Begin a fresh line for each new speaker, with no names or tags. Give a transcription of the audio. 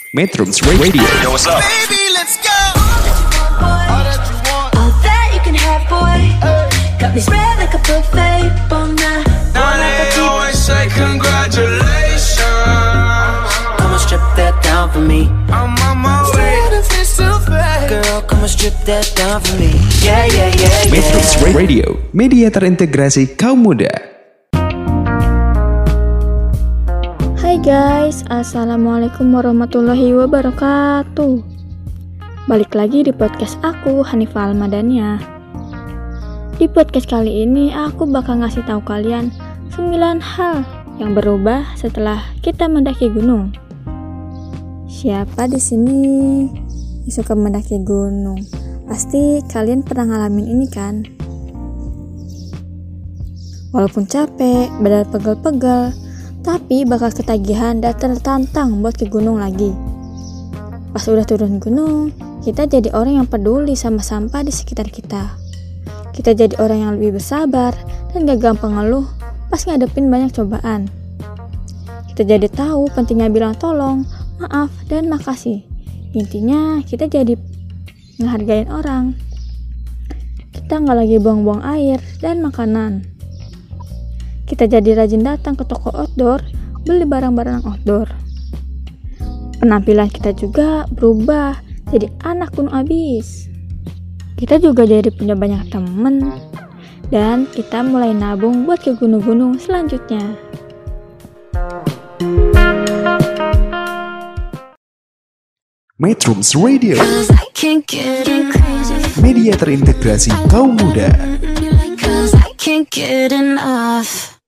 Metrums Radio.
Yo, what's up?
Baby, let's go. All that you want, all that you can have, boy. Got me spread like a buffet, bon now.
Now they always say congratulations.
Come and strip that down for me.
I'm on my way.
Girl, come and strip that down for me. Yeah, yeah, yeah,
Metrums
yeah.
Radio, media terintegrasi kaum muda.
Hai guys, assalamualaikum warahmatullahi wabarakatuh. Balik lagi di podcast aku, Hanifah Almadania. Di podcast kali ini aku bakal ngasih tahu kalian 9 hal yang berubah setelah kita mendaki gunung. Siapa di sini yang suka mendaki gunung? Pasti kalian pernah ngalamin ini kan? Walaupun capek, badan pegel-pegel, tapi bakal ketagihan dan tertantang buat ke gunung lagi. Pas udah turun gunung, kita jadi orang yang peduli sama sampah di sekitar kita. Kita jadi orang yang lebih bersabar dan gak gampang ngeluh pas ngadepin banyak cobaan. Kita jadi tahu pentingnya bilang tolong, maaf, dan makasih. Intinya kita jadi ngehargain orang. Kita gak lagi buang-buang air dan makanan. Kita jadi rajin datang ke toko outdoor, beli barang-barang outdoor. Penampilan kita juga berubah, jadi anak gunung abis. Kita juga jadi punya banyak temen, dan kita mulai nabung buat ke gunung-gunung selanjutnya.
Metrums Radio,
Cause I can't get crazy.
media terintegrasi kaum muda.
Cause I can't get enough.